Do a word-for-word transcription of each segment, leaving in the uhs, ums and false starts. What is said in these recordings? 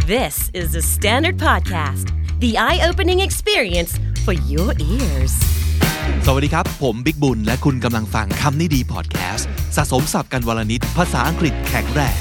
This is the Standard Podcast, the eye-opening experience for your ears. สวัสดีครับผมบิ๊กบุญและคุณกำลังฟังคำนี้ดีพอดแคสต์สะสมศัพท์กันวลนิดภาษาอังกฤษแข็งแรง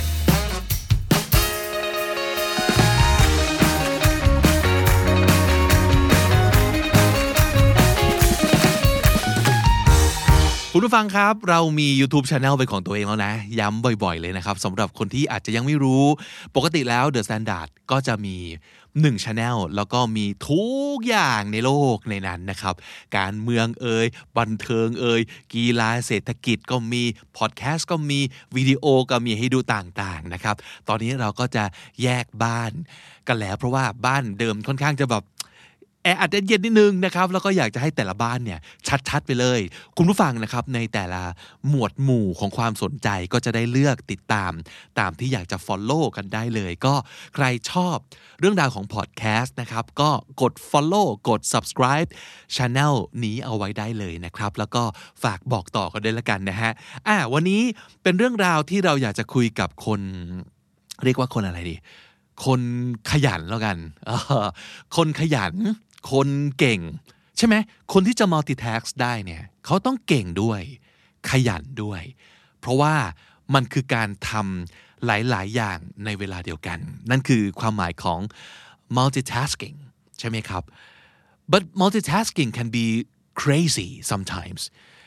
คุณผู้ฟังครับเรามี YouTube Channel เป็นของตัวเองแล้วนะย้ำบ่อยๆเลยนะครับสำหรับคนที่อาจจะยังไม่รู้ปกติแล้ว The Standard ก็จะมีหนึ่ง Channel แล้วก็มีทุกอย่างในโลกในนั้นนะครับการเมืองเอ่ยบันเทิงเอ่ยกีฬาเศรษฐกิจก็มีพอดแคสต์ก็มีวิดีโอก็มีให้ดูต่างๆนะครับตอนนี้เราก็จะแยกบ้านกันแล้วเพราะว่าบ้านเดิมค่อนข้างจะแบบแออัดเย็นนิดนึงนะครับแล้วก็อยากจะให้แต่ละบ้านเนี่ยชัดๆไปเลยคุณผู้ฟังนะครับในแต่ละหมวดหมู่ของความสนใจก็จะได้เลือกติดตามตามที่อยากจะ follow กันได้เลยก็ใครชอบเรื่องราวของพอดแคสต์นะครับก็กด follow กด subscribe channel นี้เอาไว้ได้เลยนะครับแล้วก็ฝากบอกต่อกันด้วยละกันนะฮะอ่ะวันนี้เป็นเรื่องราวที่เราอยากจะคุยกับคนเรียกว่าคนอะไรดีคนขยันแล้วกันคนขยันคนเก่งใช่ไหมคนที่จะ multitask ได้เนี่ยเขาต้องเก่งด้วยขยันด้วยเพราะว่ามันคือการทำหลายๆอย่างในเวลาเดียวกันนั่นคือความหมายของ multitasking ใช่ไหมครับ but multitasking can be crazy sometimes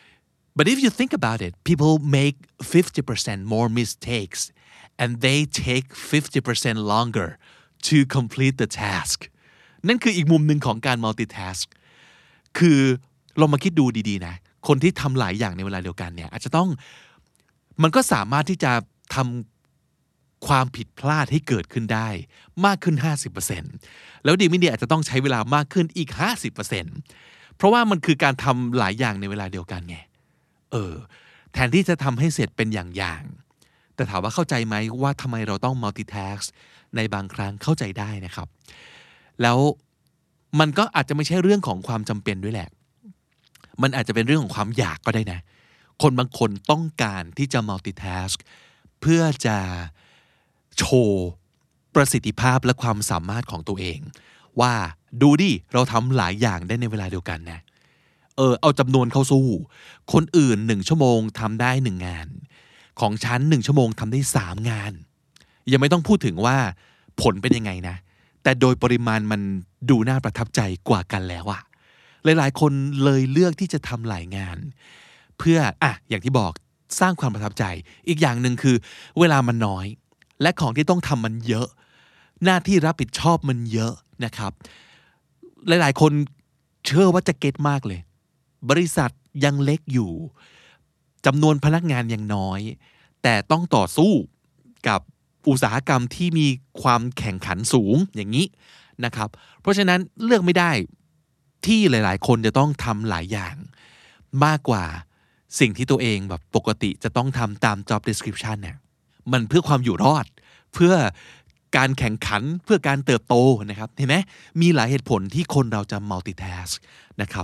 but if you think about it people make fifty percent more mistakes and they take fifty percent longer to complete the taskนั่นคืออีกมุมหนึ่งของการ multitask คือลองมาคิดดูดีๆนะคนที่ทำหลายอย่างในเวลาเดียวกันเนี่ยอาจจะต้องมันก็สามารถที่จะทำความผิดพลาดให้เกิดขึ้นได้มากขึ้น ห้าสิบเปอร์เซ็นต์ แล้วดีไม่ดีอาจจะต้องใช้เวลามากขึ้นอีก ห้าสิบเปอร์เซ็นต์ เพราะว่ามันคือการทำหลายอย่างในเวลาเดียวกันไงเออแทนที่จะทำให้เสร็จเป็นอย่างๆแต่ถามว่าเข้าใจไหมว่าทำไมเราต้อง multitask ในบางครั้งเข้าใจได้นะครับแล้วมันก็อาจจะไม่ใช่เรื่องของความจำเป็นด้วยแหละมันอาจจะเป็นเรื่องของความอยากก็ได้นะคนบางคนต้องการที่จะ multitask เพื่อจะโชว์ประสิทธิภาพและความสามารถของตัวเองว่าดูดิเราทำหลายอย่างได้ในเวลาเดียวกันนะเออเอาจำนวนเข้าสู้คนอื่นหนึ่งชั่วโมงทำได้หนึ่งงานของฉันหนึ่งชั่วโมงทำได้สามงานยังไม่ต้องพูดถึงว่าผลเป็นยังไงนะแต่โดยปริมาณมันดูน่าประทับใจกว่ากันแล้วอะหลายๆคนเลยเลือกที่จะทำหลายงานเพื่ออ่ะอย่างที่บอกสร้างความประทับใจอีกอย่างหนึ่งคือเวลามันน้อยและของที่ต้องทำมันเยอะหน้าที่รับผิดชอบมันเยอะนะครับหลายๆคนเชื่อว่าจะเก็ตมากเลยบริษัทยังเล็กอยู่จำนวนพนักงานยังน้อยแต่ต้องต่อสู้กับอุตสาหกรรมที่มีความแข่งขันสูงอย่างนี้นะครับเพราะฉะนั้นเลือกไม่ได้ที่หลายๆคนจะต้องทำหลายอย่างมากกว่าสิ่งที่ตัวเองแบบปกติจะต้องทำตาม job description เนี่ยมันเพื่อความอยู่รอดเพื่อการแข่งขันเพื่อการเติบโตนะครับเห็นไหมมีหลายเหตุผลที่คนเราจะ multitask นะครับ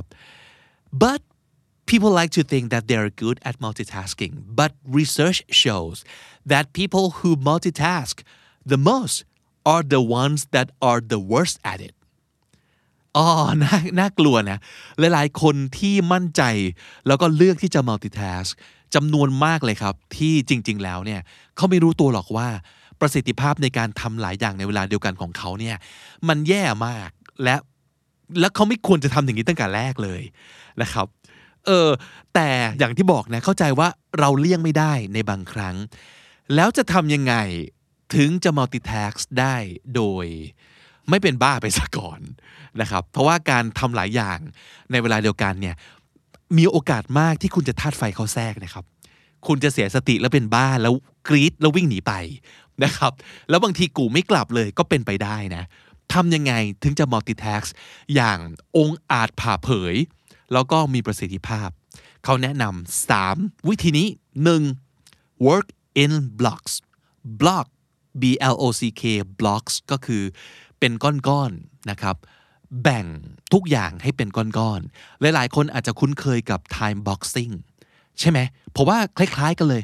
but people like to think that they are good at multitasking, but research shows that people who multitask the most are the ones that are the worst at it. อ๋อน่าน่ากลัวนะหลายๆคนที่มั่นใจแล้วก็เลือกที่จะ multitask จำนวนมากเลยครับที่จริงๆแล้วเนี่ยเขาไม่รู้ตัวหรอกว่าประสิทธิภาพในการทำหลายอย่างในเวลาเดียวกันของเขาเนี่ยมันแย่มากและและเขาไม่ควรจะทำอย่างนี้ตั้งแต่แรกเลยนะครับเออแต่อย่างที่บอกนะเข้าใจว่าเราเลี่ยงไม่ได้ในบางครั้งแล้วจะทำยังไงถึงจะ multitask ได้โดยไม่เป็นบ้าไปซะก่อนนะครับเพราะว่าการทำหลายอย่างในเวลาเดียวกันเนี่ยมีโอกาสมากที่คุณจะธาตุไฟเข้าแทรกนะครับคุณจะเสียสติแล้วเป็นบ้าแล้วกรี๊ดแล้ววิ่งหนีไปนะครับแล้วบางทีกูไม่กลับเลยก็เป็นไปได้นะทำยังไงถึงจะ multitask อย่างองอาจผ่าเผยแล้วก็มีประสิทธิภาพเขาแนะนำสามวิธีนี้หนึ่ง work in blocks block B L O C K blocks ก็คือเป็นก้อนๆนะครับแบ่งทุกอย่างให้เป็นก้อนๆหลายๆคนอาจจะคุ้นเคยกับ time boxing ใช่ไหมเพราะว่าคล้ายๆกันเลย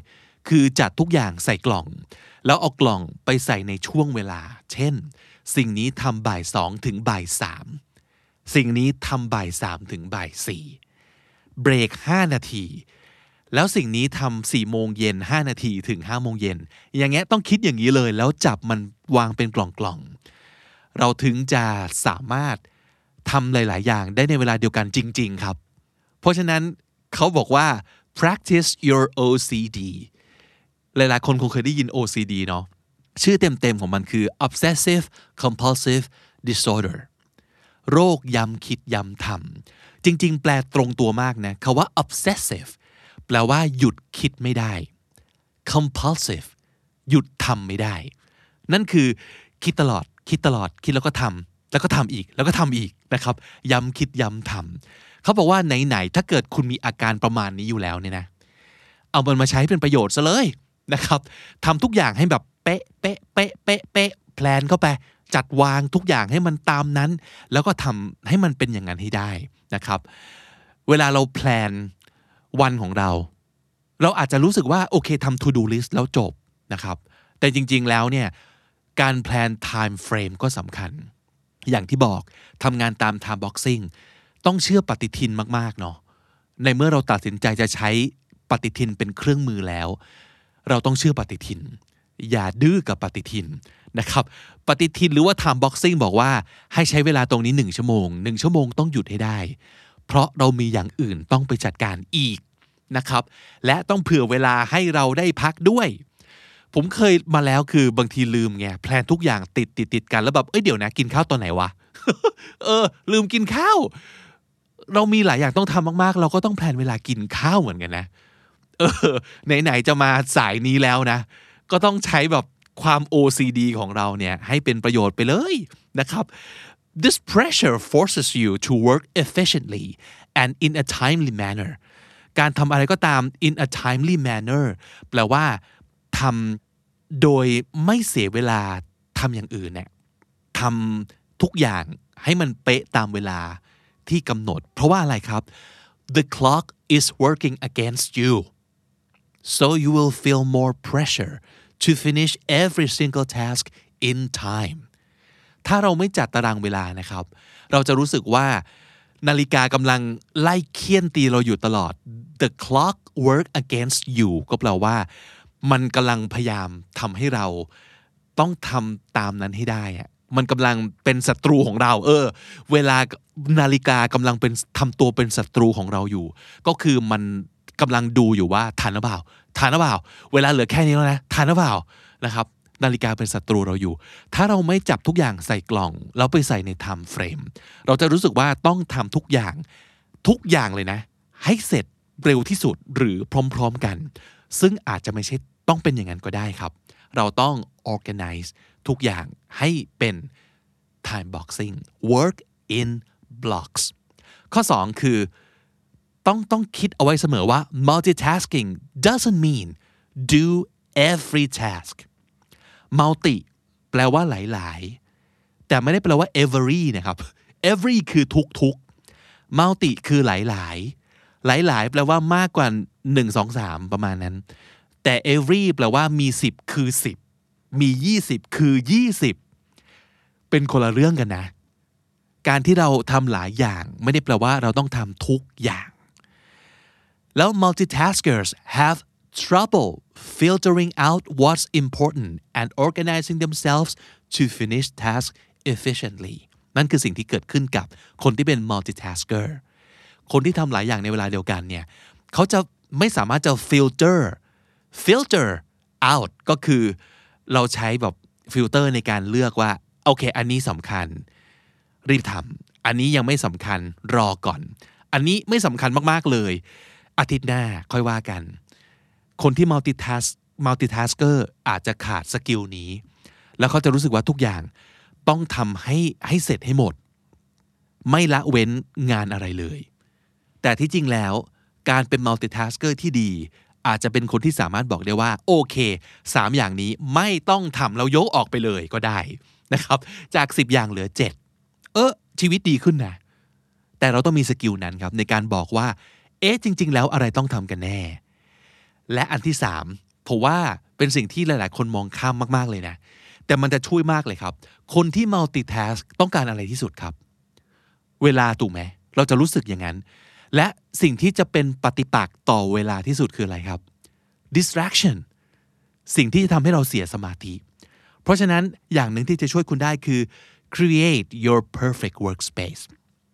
คือจัดทุกอย่างใส่กล่องแล้วเอากล่องไปใส่ในช่วงเวลาเช่นสิ่งนี้ทำบ่ายสองถึงบ่ายสามสิ่งนี้ทำบ่ายสามถึงบ่ายสี่เบรกห้านาทีแล้วสิ่งนี้ทำสี่โมงเย็นห้านาทีถึงห้าโมงเย็นอย่างเงี้ยต้องคิดอย่างนี้เลยแล้วจับมันวางเป็นกล่องๆเราถึงจะสามารถทำหลายๆอย่างได้ในเวลาเดียวกันจริงๆครับเพราะฉะนั้นเขาบอกว่า practice your โอ ซี ดี หลายๆคนคงเคยได้ยิน โอ ซี ดี เนาะชื่อเต็มๆของมันคือ obsessive compulsive disorder โรคย้ำคิดย้ำทำจริงๆแปลตรงตัวมากนะคำว่า obsessive แปลว่าหยุดคิดไม่ได้ compulsive หยุดทำไม่ได้นั่นคือคิดตลอดคิดตลอดคิดแล้วก็ทำแล้วก็ทำอีกแล้วก็ทำอีกนะครับย้ำคิดย้ำทำเขาบอกว่าไหนๆถ้าเกิดคุณมีอาการประมาณนี้อยู่แล้วเนี่ยนะเอามันมาใช้เป็นประโยชน์ซะเลยนะครับทำทุกอย่างให้แบบเป๊ะเป๊ะเป๊ะเป๊ะเป๊ะแพลนเข้าไปจัดวางทุกอย่างให้มันตามนั้นแล้วก็ทำให้มันเป็นอย่างนั้นให้ได้นะครับเวลาเราแพลนวันของเราเราอาจจะรู้สึกว่าโอเคทำ to do list แล้วจบนะครับแต่จริงๆแล้วเนี่ยการแพลน time frame ก็สำคัญอย่างที่บอกทำงานตาม time boxing ต้องเชื่อปฏิทินมากๆเนาะในเมื่อเราตัดสินใจจะใช้ปฏิทินเป็นเครื่องมือแล้วเราต้องเชื่อปฏิทินอย่าดื้อกับปฏิทินนะครับปฏิทินหรือว่า time boxing บอกว่าให้ใช้เวลาตรงนี้หนึ่งชั่วโมงหนึ่งชั่วโมงต้องหยุดให้ได้เพราะเรามีอย่างอื่นต้องไปจัดการอีกนะครับและต้องเผื่อเวลาให้เราได้พักด้วยผมเคยมาแล้วคือบางทีลืมไงแพลนทุกอย่างติดติดติดกันแล้วแบบเอ้ยเดี๋ยวนะกินข้าวตอนไหนวะ เออลืมกินข้าวเรามีหลายอย่างต้องทำมากๆเราก็ต้องแพลนเวลากินข้าวเหมือนกันนะเออไหนๆจะมาสายนี้แล้วนะก็ต้องใช้แบบความ โอ ซี ดี ของเราเนี่ยให้เป็นประโยชน์ไปเลยนะครับ This pressure forces you to work efficiently and in a timely manner การทำอะไรก็ตาม in a timely manner แปลว่าทำโดยไม่เสียเวลาทำอย่างอื่นเนี่ยทำทุกอย่างให้มันเป๊ะตามเวลาที่กำหนดเพราะว่าอะไรครับ The clock is working against you so you will feel more pressure to finish every single task in time ถ้าเราไม่จัดตารางเวลานะครับเราจะรู้สึกว่านาฬิกากำลังไล่เคี่ยนตีเราอยู่ตลอด The clock work against you ก็แปลว่ามันกำลังพยายามทำให้เราต้องทำตามนั้นให้ได้อะมันกำลังเป็นศัตรูของเราเออเวลานาฬิกากำลังเป็นทำตัวเป็นศัตรูของเราอยู่ก็คือมันกำลังดูอยู่ว่าทันหรือเปล่าทันหรือเปล่าเวลาเหลือแค่นี้แล้วนะทันหรือเปล่านะครับนาฬิกาเป็นศัตรูเราอยู่ถ้าเราไม่จับทุกอย่างใส่กล่องแล้วไปใส่ใน time frame เราจะรู้สึกว่าต้องทำทุกอย่างทุกอย่างเลยนะให้เสร็จเร็วที่สุดหรือพร้อมๆกันซึ่งอาจจะไม่ใช่ต้องเป็นอย่างนั้นก็ได้ครับเราต้อง organize ทุกอย่างให้เป็น time boxing work in blocks ข้อสองคือต้องต้องคิดเอาไว้เสมอว่า multitasking doesn't mean do every task multi แปลว่าหลายๆแต่ไม่ได้แปลว่า every นะครับ every คือทุกๆ multi คือหลายๆหลายๆแปลว่ามากกว่าหนึ่ง สอง สามประมาณนั้นแต่ every แปลว่ามีสิบคือสิบมียี่สิบคือยี่สิบเป็นคนละเรื่องกันนะการที่เราทำหลายอย่างไม่ได้แปลว่าเราต้องทำทุกอย่างแล้ว multitaskers have trouble filtering out what's important and organizing themselves to finish tasks efficiently นั่นคือสิ่งที่เกิดขึ้นกับคนที่เป็น multitasker คนที่ทำหลายอย่างในเวลาเดียวกันเนี่ยเขาจะไม่สามารถจะ filter filter out ก็คือเราใช้แบบฟิลเตอร์ในการเลือกว่าโอเคอันนี้สำคัญรีบทำอันนี้ยังไม่สำคัญรอก่อนอันนี้ไม่สำคัญมากๆเลยอาทิตย์หน้าค่อยว่ากันคนที่ multitask multitasker อาจจะขาดสกิลนี้แล้วเขาจะรู้สึกว่าทุกอย่างต้องทำให้ให้เสร็จให้หมดไม่ละเว้นงานอะไรเลยแต่ที่จริงแล้วการเป็น multitasker ที่ดีอาจจะเป็นคนที่สามารถบอกได้ว่าโอเคสามอย่างนี้ไม่ต้องทำเรายกออกไปเลยก็ได้นะครับจากสิบอย่างเหลือเจ็ดเออชีวิตดีขึ้นนะแต่เราต้องมีสกิลนั้นครับในการบอกว่าเอ๊ะจริงๆแล้วอะไรต้องทำกันแน่และอันที่สามผมว่าเป็นสิ่งที่หลายๆคนมองข้ามมากๆเลยนะแต่มันจะช่วยมากเลยครับคนที่ multitask ต้องการอะไรที่สุดครับเวลาถูกไหมเราจะรู้สึกอย่างนั้นและสิ่งที่จะเป็นปฏิปักษ์ต่อเวลาที่สุดคืออะไรครับ distraction สิ่งที่จะทำให้เราเสียสมาธิเพราะฉะนั้นอย่างหนึ่งที่จะช่วยคุณได้คือ create your perfect workspace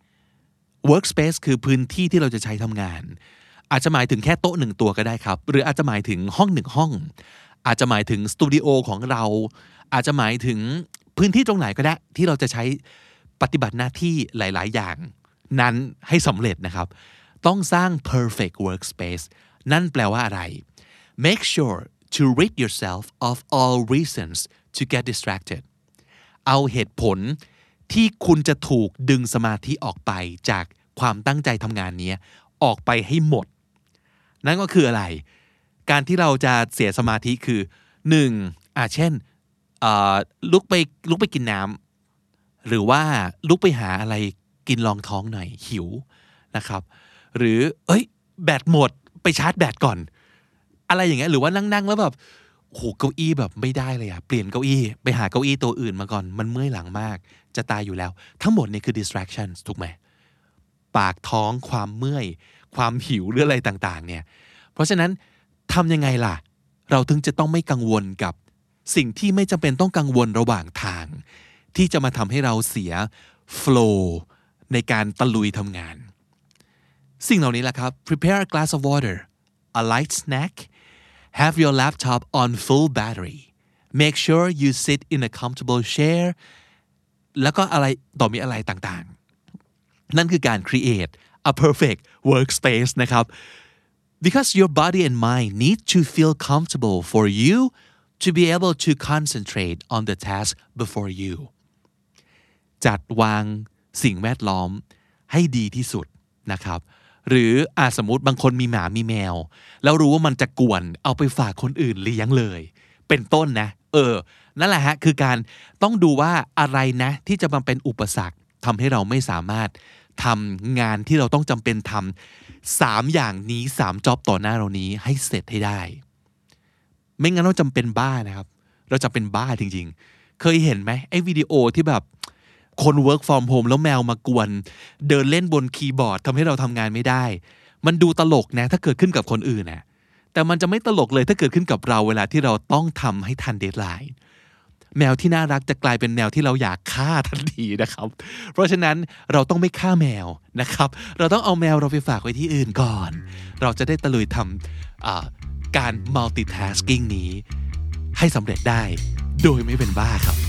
workspace คือพื้นที่ที่เราจะใช้ทำงานอาจจะหมายถึงแค่โต๊ะหนึ่งตัวก็ได้ครับหรืออาจจะหมายถึงห้องหนึ่งห้องอาจจะหมายถึงสตูดิโอของเราอาจจะหมายถึงพื้นที่ตรงไหนก็ได้ที่เราจะใช้ปฏิบัติหน้าที่หลายๆอย่างนั้นให้สำเร็จนะครับต้องสร้าง perfect workspace นั่นแปลว่าอะไร make sure to rid yourself of all reasons to get distracted เอาเหตุผลที่คุณจะถูกดึงสมาธิออกไปจากความตั้งใจทำงานนี้ออกไปให้หมดนั่นก็คืออะไรการที่เราจะเสียสมาธิคือหนึ่งอ่ะเช่นลุกไปลุกไปกินน้ำหรือว่าลุกไปหาอะไรกินรองท้องหน่อยหิวนะครับหรือเอ้ยแบตหมดไปชาร์จแบตก่อนอะไรอย่างเงี้ยหรือว่านั่งๆแล้วแบบโหเก้าอี้แบบไม่ได้เลยอะเปลี่ยนเก้าอี้ไปหาเก้าอี้ตัวอื่นมาก่อนมันเมื่อยหลังมากจะตายอยู่แล้วทั้งหมดนี่คือ distractions ถูกไหมปากท้องความเมื่อยความหิวหรืออะไรต่างๆเนี่ยเพราะฉะนั้นทำยังไงล่ะเราถึงจะต้องไม่กังวลกับสิ่งที่ไม่จำเป็นต้องกังวลระหว่างทางที่จะมาทำให้เราเสีย flow ในการตะลุยทำงานสิ่งเหล่านี้แหละครับ prepare a glass of water a light snack have your laptop on full battery make sure you sit in a comfortable chair แล้วก็อะไรต่อมีอะไรต่างๆนั่นคือการ create a perfect workspace นะครับ because your body and mind need to feel comfortable for you to be able to concentrate on the task before you จัดวางสิ่งแวดล้อมให้ดีที่สุดนะครับหรืออาจสมมติบางคนมีหมามีแมวแล้วรู้ว่ามันจะกวนเอาไปฝากคนอื่นเลี้ยงเลยเป็นต้นนะเออนั่นแหละฮะคือการต้องดูว่าอะไรนะที่จะมาเป็นอุปสรรคทำให้เราไม่สามารถทำงานที่เราต้องจำเป็นทำสามอย่างนี้สามจ็อบต่อหน้าเรานี้ให้เสร็จให้ได้ไม่งั้นเราจำเป็นบ้านะครับเราจำเป็นบ้าจริงๆเคยเห็นไหมไอ้วิดีโอที่แบบคน work from home แล้วแมวมากวนเดินเล่นบนคีย์บอร์ดทำให้เราทำงานไม่ได้มันดูตลกนะถ้าเกิดขึ้นกับคนอื่นนะแต่มันจะไม่ตลกเลยถ้าเกิดขึ้นกับเราเวลาที่เราต้องทำให้ทันเดดไลน์แมวที่น่ารักจะกลายเป็นแมวที่เราอยากฆ่าทันทีนะครับเพราะฉะนั้นเราต้องไม่ฆ่าแมวนะครับเราต้องเอาแมวเราไปฝากไว้ที่อื่นก่อนเราจะได้ตะลุยทำการ multitasking นี้ให้สำเร็จได้โดยไม่เป็นบ้าครับ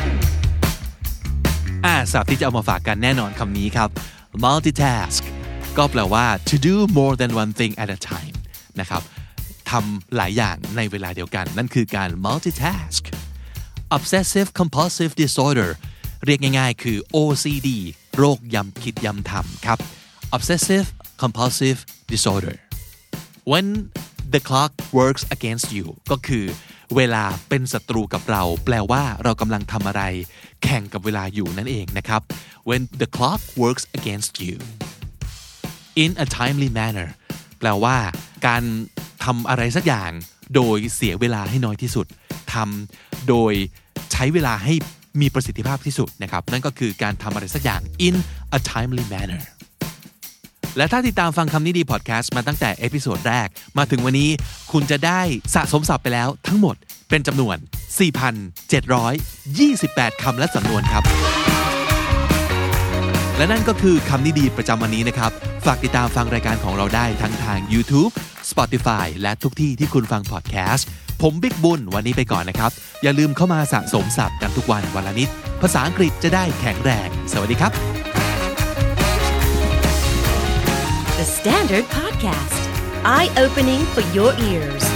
อ่าศัพท์ที่จะเอามาฝากกันแน่นอนคำนี้ครับ multitask ก็แปลว่า to do more than one thing at a time นะครับทำหลายอย่างในเวลาเดียวกันนั่นคือการ multitask obsessive compulsive disorder เรียกง่ายๆคือ โอ ซี ดี โรคย้ำคิดย้ำทำครับ obsessive compulsive disorder when the clock works against you ก็คือเวลาเป็นศัตรูกับเราแปลว่าเรากำลังทำอะไรแข่งกับเวลาอยู่นั่นเองนะครับ when the clock works against you in a timely manner แปลว่าการทำอะไรสักอย่างโดยเสียเวลาให้น้อยที่สุดทำโดยใช้เวลาให้มีประสิทธิภาพที่สุดนะครับนั่นก็คือการทำอะไรสักอย่าง in a timely manner และถ้าติดตามฟังคำนี้ดีพอดแคสต์มาตั้งแต่เอพิโซดแรกมาถึงวันนี้คุณจะได้สะสมศัพท์ไปแล้วทั้งหมดเป็นจำนวน สี่พันเจ็ดร้อยยี่สิบแปด คำและสำนวนครับและนั่นก็คือคำนี้ดีประจำวันนี้นะครับฝากติดตามฟังรายการของเราได้ทั้งทาง YouTube Spotify และทุกที่ที่คุณฟังพอดแคสต์ผมบิ๊กบุญวันนี้ไปก่อนนะครับอย่าลืมเข้ามาสะสมศัพท์กันทุกวันวันละนิดภาษาอังกฤษจะได้แข็งแรงสวัสดีครับ The Standard Podcast Eye Opening for Your Ears